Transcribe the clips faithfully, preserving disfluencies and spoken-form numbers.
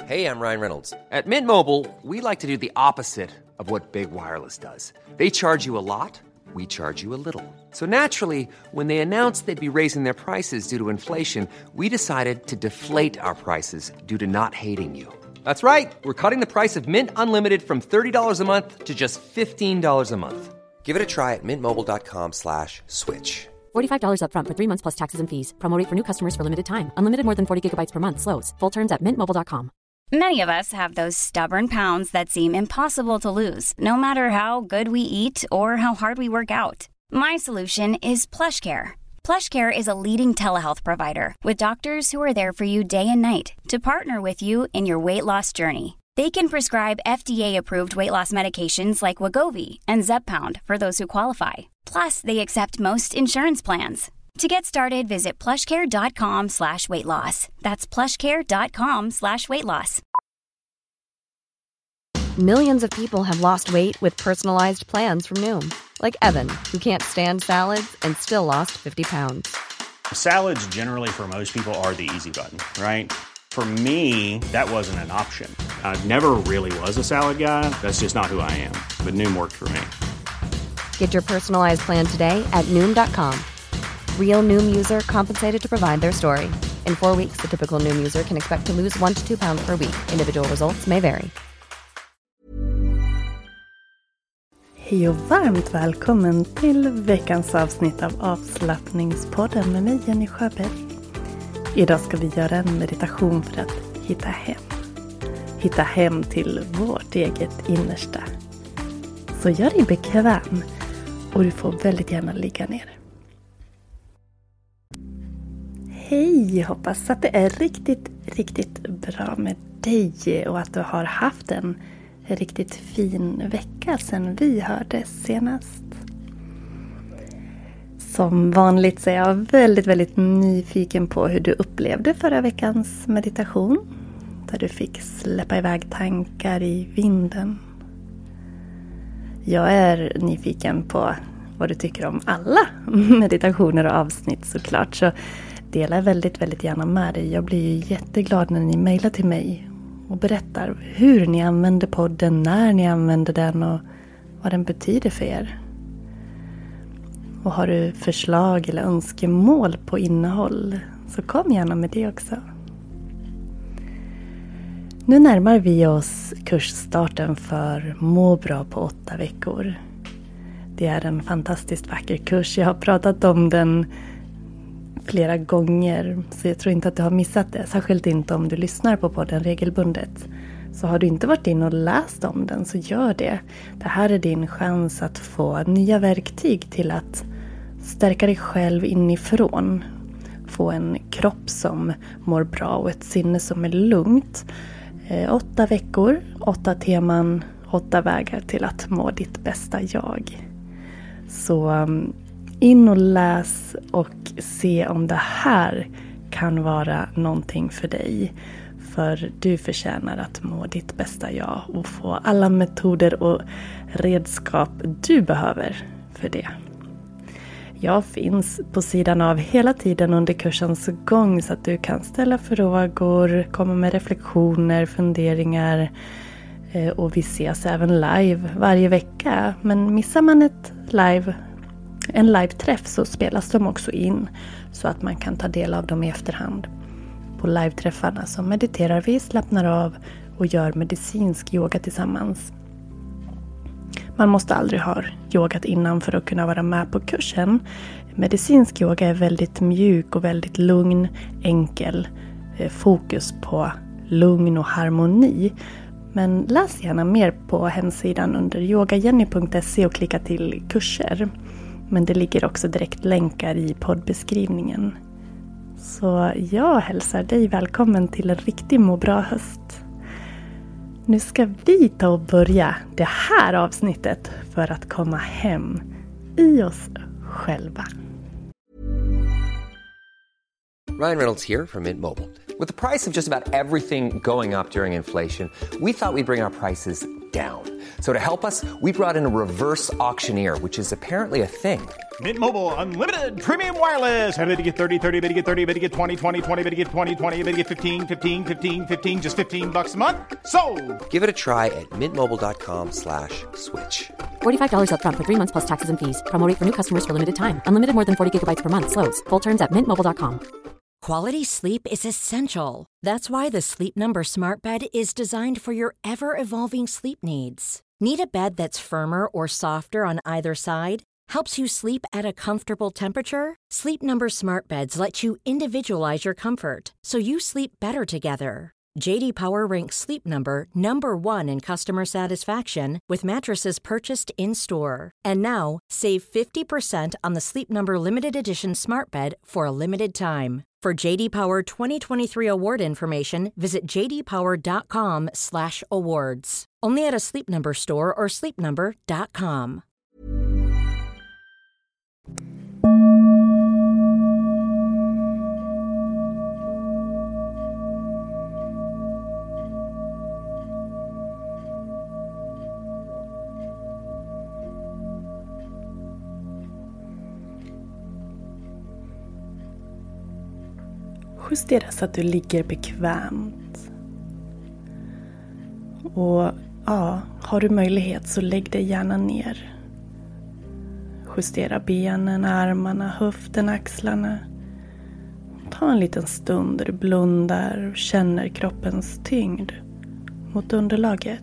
Hey, I'm Ryan Reynolds. At Mint Mobile, we like to do the opposite of what Big Wireless does. They charge you a lot, we charge you a little. So naturally, when they announced they'd be raising their prices due to inflation, we decided to deflate our prices due to not hating you. That's right. We're cutting the price of Mint Unlimited from thirty dollars a month to just fifteen dollars a month. Give it a try at mintmobile.com slash switch. forty-five dollars up front for three months plus taxes and fees. Promo rate for new customers for limited time. Unlimited more than forty gigabytes per month slows. Full terms at mint mobile dot com. Many of us have those stubborn pounds that seem impossible to lose, no matter how good we eat or how hard we work out. My solution is PlushCare. PlushCare is a leading telehealth provider with doctors who are there for you day and night to partner with you in your weight loss journey. They can prescribe F D A-approved weight loss medications like Wegovy and Zepbound for those who qualify. Plus, they accept most insurance plans. To get started, visit plushcare.com slash weight loss. That's plushcare.com slash weight loss. Millions of people have lost weight with personalized plans from Noom. Like Evan, who can't stand salads and still lost fifty pounds. Salads generally for most people are the easy button, right? For me, that wasn't an option. I never really was a salad guy. That's just not who I am. But Noom worked for me. Get your personalized plan today at Noom dot com. Real Noom user compensated to provide their story. In four weeks, the typical Noom user can expect to lose one to two pounds per week. Individual results may vary. Hej och varmt välkommen till veckans avsnitt av Avslappningspodden med mig, Jenny Sjöberg. Idag ska vi göra en meditation för att hitta hem. Hitta hem till vårt eget innersta. Så gör dig bekväm och du får väldigt gärna ligga ner. Hej, hoppas att det är riktigt, riktigt bra med dig och att du har haft en riktigt fin vecka sedan vi hördes senast. Som vanligt så är jag väldigt, väldigt nyfiken på hur du upplevde förra veckans meditation. Där du fick släppa iväg tankar i vinden. Jag är nyfiken på vad du tycker om alla meditationer och avsnitt såklart. Så dela väldigt, väldigt gärna med dig. Jag blir ju jätteglad när ni mejlar till mig och berättar hur ni använder podden, när ni använder den och vad den betyder för er. Och har du förslag eller önskemål på innehåll så kom gärna med det också. Nu närmar vi oss kursstarten för Må bra på åtta veckor. Det är en fantastiskt vacker kurs. Jag har pratat om den flera gånger så jag tror inte att du har missat det. Särskilt inte om du lyssnar på podden regelbundet. Så har du inte varit in och läst om den så gör det. Det här är din chans att få nya verktyg till att stärka dig själv inifrån. Få en kropp som mår bra och ett sinne som är lugnt. Eh, åtta veckor, åtta teman, åtta vägar till att må ditt bästa jag. Så um, in och läs och se om det här kan vara någonting för dig. För du förtjänar att må ditt bästa jag och få alla metoder och redskap du behöver för det. Jag finns på sidan av hela tiden under kursens gång så att du kan ställa frågor, komma med reflektioner, funderingar och vi ses även live varje vecka. Men missar man ett live, en live-träff så spelas de också in så att man kan ta del av dem i efterhand. På live-träffarna så mediterar vi, slappnar av och gör medicinsk yoga tillsammans. Man måste aldrig ha yogat innan för att kunna vara med på kursen. Medicinsk yoga är väldigt mjuk och väldigt lugn, enkel. Fokus på lugn och harmoni. Men läs gärna mer på hemsidan under yogajenny punkt se och klicka till kurser. Men det ligger också direkt länkar i poddbeskrivningen. Så jag hälsar dig välkommen till en riktig må bra höst. Nu ska vi ta och börja det här avsnittet för att komma hem i oss själva. Ryan Reynolds here from Mint Mobile. With the price of just about everything going up during inflation, we thought we'd bring our prices down. So to help us, we brought in a reverse auctioneer, which is apparently a thing. Mint Mobile Unlimited Premium Wireless. How to get thirty, thirty, how to get thirty, how to get twenty, twenty, twenty, how to get twenty, twenty, how to get fifteen, fifteen, fifteen, fifteen, just fifteen bucks a month? Sold! Give it a try at mintmobile.com slash switch. forty-five dollars up front for three months plus taxes and fees. Promo rate for new customers for limited time. Unlimited more than forty gigabytes per month. Slows full terms at mint mobile dot com. Quality sleep is essential. That's why the Sleep Number Smart Bed is designed for your ever-evolving sleep needs. Need a bed that's firmer or softer on either side? Helps you sleep at a comfortable temperature? Sleep Number Smart Beds let you individualize your comfort, so you sleep better together. J D Power ranks Sleep Number number one in customer satisfaction with mattresses purchased in-store. And now, save fifty percent on the Sleep Number Limited Edition Smart Bed for a limited time. For J D Power twenty twenty-three award information, visit j d power dot com slash awards. Only at a Sleep Number store or sleep number dot com. Justera så att du ligger bekvämt. Och ja, har du möjlighet så lägg dig gärna ner. Justera benen, armarna, höften, axlarna. Ta en liten stund där du blundar och känner kroppens tyngd mot underlaget.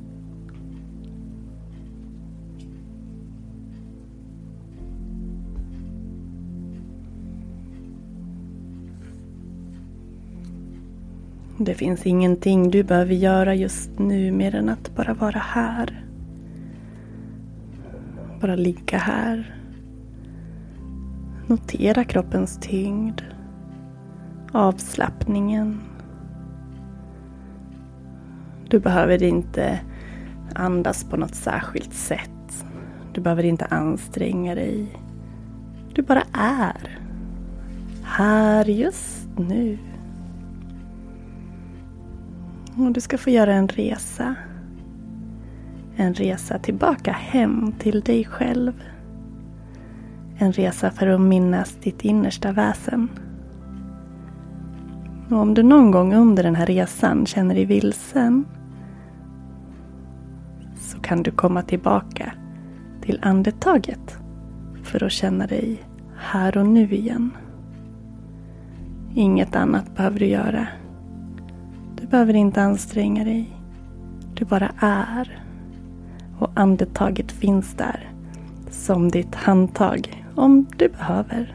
Det finns ingenting du behöver göra just nu mer än att bara vara här. Bara ligga här. Notera kroppens tyngd. Avslappningen. Du behöver inte andas på något särskilt sätt. Du behöver inte anstränga dig. Du bara är. Här just nu. Och du ska få göra en resa. En resa tillbaka hem till dig själv. En resa för att minnas ditt innersta väsen. Och om du någon gång under den här resan känner dig vilsen, så kan du komma tillbaka till andetaget för att känna dig här och nu igen. Inget annat behöver du göra. Du behöver inte anstränga dig. Du bara är. Och andetaget finns där som ditt handtag om du behöver.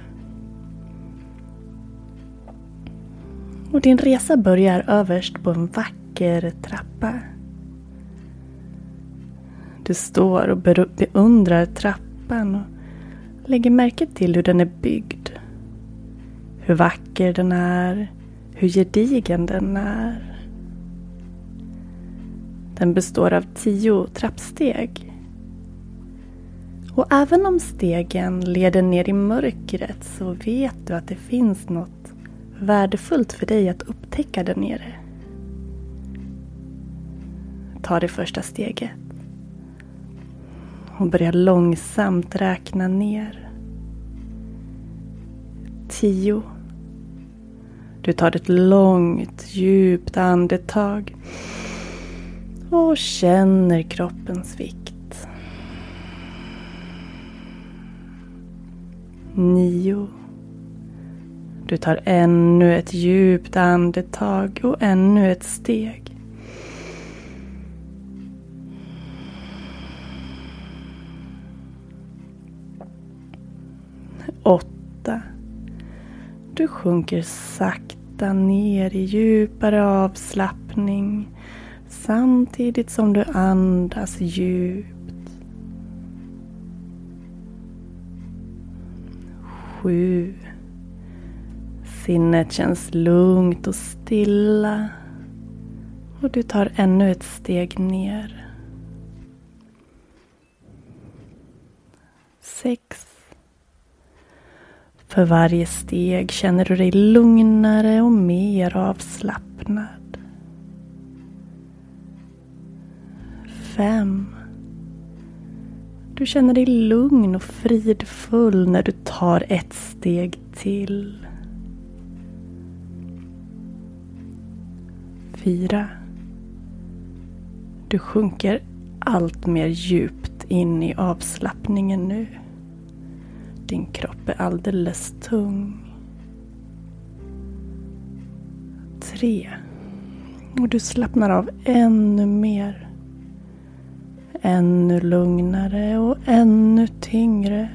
Och din resa börjar överst på en vacker trappa. Du står och beundrar trappan och lägger märke till hur den är byggd. Hur vacker den är. Hur gedigen den är. Den består av tio trappsteg. Och även om stegen leder ner i mörkret så vet du att det finns något värdefullt för dig att upptäcka där nere. Ta det första steget. Och börja långsamt räkna ner. Tio. Du tar ett långt, djupt andetag. Och känner kroppens vikt. Nio. Du tar ännu ett djupt andetag och ännu ett steg. Åtta. Du sjunker sakta ner i djupare avslappning. Samtidigt som du andas djupt. Sju. Sinnet känns lugnt och stilla. Och du tar ännu ett steg ner. Sex. För varje steg känner du dig lugnare och mer avslappnad. fem. Du känner dig lugn och fridfull när du tar ett steg till. Fyra. Du sjunker allt mer djupt in i avslappningen nu. Din kropp är alldeles tung. Tre. Och du slappnar av ännu mer. Ännu lugnare och ännu tyngre.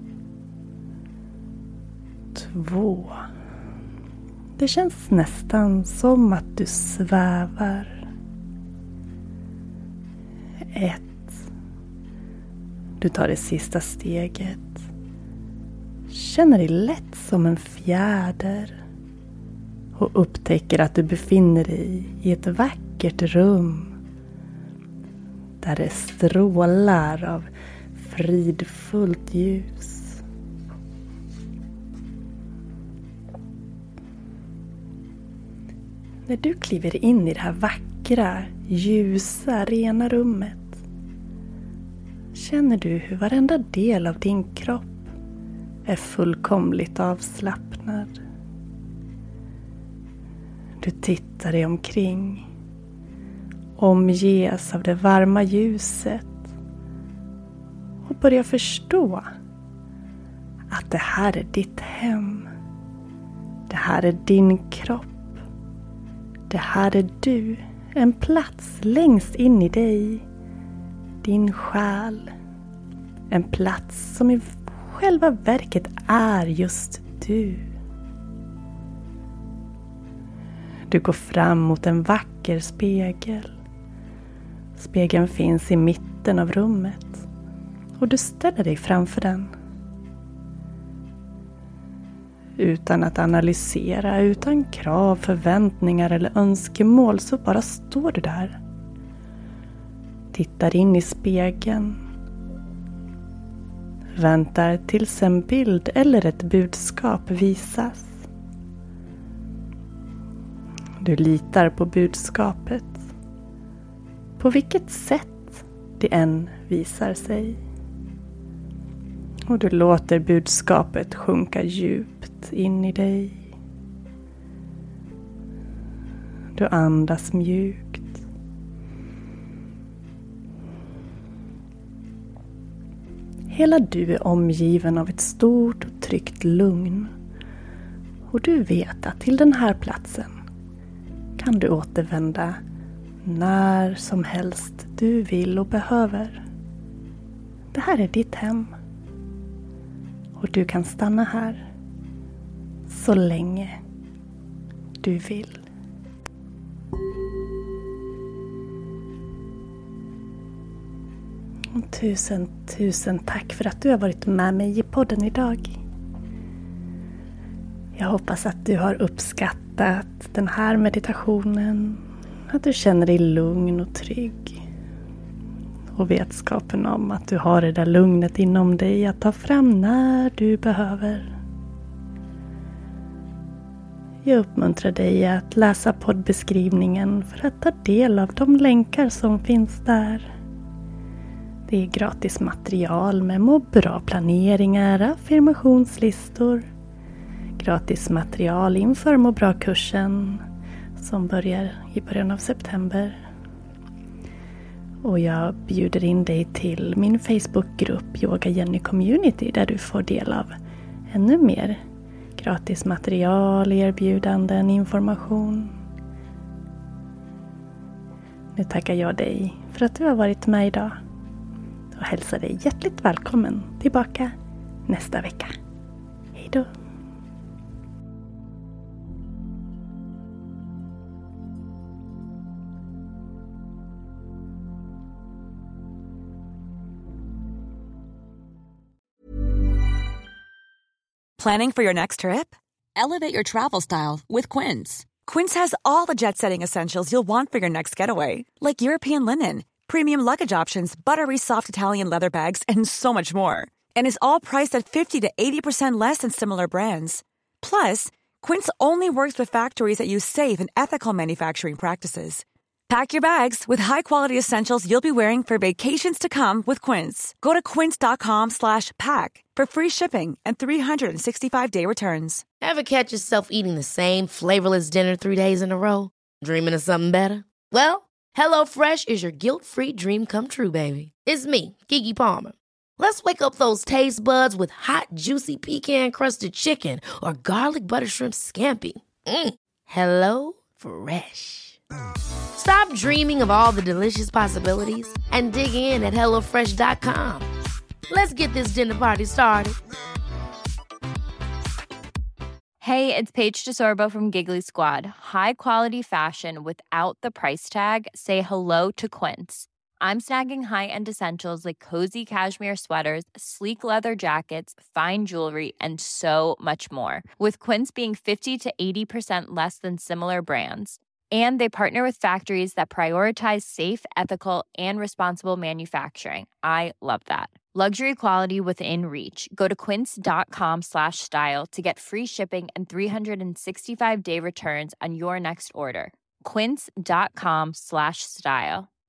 Två. Det känns nästan som att du svävar. Ett. Du tar det sista steget. Känner dig lätt som en fjäder. Och upptäcker att du befinner dig i ett vackert rum. Där det strålar av fridfullt ljus. När du kliver in i det här vackra, ljusa, rena rummet känner du hur varenda del av din kropp är fullkomligt avslappnad. Du tittar dig omkring, omges av det varma ljuset och börjar förstå att det här är ditt hem. Det här är din kropp. Det här är du, en plats längst in i dig, din själ. En plats som i själva verket är just du. Du går fram mot en vacker spegel. Spegeln finns i mitten av rummet och du ställer dig framför den. Utan att analysera, utan krav, förväntningar eller önskemål så bara står du där. Tittar in i spegeln. Väntar tills en bild eller ett budskap visas. Du litar på budskapet. På vilket sätt det än visar sig. Och du låter budskapet sjunka djupt in i dig. Du andas mjukt. Hela du är omgiven av ett stort och tryggt lugn. Och du vet att till den här platsen kan du återvända när som helst du vill och behöver. Det här är ditt hem. Och du kan stanna här så länge du vill. Och tusen, tusen tack för att du har varit med mig i podden idag. Jag hoppas att du har uppskattat den här meditationen. Att du känner dig lugn och trygg. Och vetskapen om att du har det där lugnet inom dig att ta fram när du behöver. Jag uppmuntrar dig att läsa poddbeskrivningen för att ta del av de länkar som finns där. Det är gratis material med må bra planeringar, affirmationslistor. Gratis material inför må bra kursen som börjar i början av september. Och jag bjuder in dig till min Facebookgrupp Yoga Jenny Community där du får del av ännu mer gratis material, erbjudanden, information. Nu tackar jag dig för att du har varit med idag och hälsar dig hjärtligt välkommen tillbaka nästa vecka. Hej då! Planning for your next trip? Elevate your travel style with Quince. Quince has all the jet-setting essentials you'll want for your next getaway, like European linen, premium luggage options, buttery soft Italian leather bags, and so much more. And is all priced at fifty to eighty percent less than similar brands. Plus, Quince only works with factories that use safe and ethical manufacturing practices. Pack your bags with high-quality essentials you'll be wearing for vacations to come with Quince. Go to quince.com slash pack for free shipping and three sixty-five day returns. Ever catch yourself eating the same flavorless dinner three days in a row? Dreaming of something better? Well, HelloFresh is your guilt-free dream come true, baby. It's me, Keke Palmer. Let's wake up those taste buds with hot, juicy pecan-crusted chicken or garlic butter shrimp scampi. Mm. Hello Fresh. Stop dreaming of all the delicious possibilities and dig in at hello fresh dot com. Let's get this dinner party started. Hey, it's Paige DeSorbo from Giggly Squad. High quality fashion without the price tag. Say hello to Quince. I'm snagging high-end essentials like cozy cashmere sweaters, sleek leather jackets, fine jewelry, and so much more. With Quince being fifty to eighty percent less than similar brands. And they partner with factories that prioritize safe, ethical, and responsible manufacturing. I love that. Luxury quality within reach. Go to quince.com slash style to get free shipping and three sixty-five day returns on your next order. Quince.com slash style.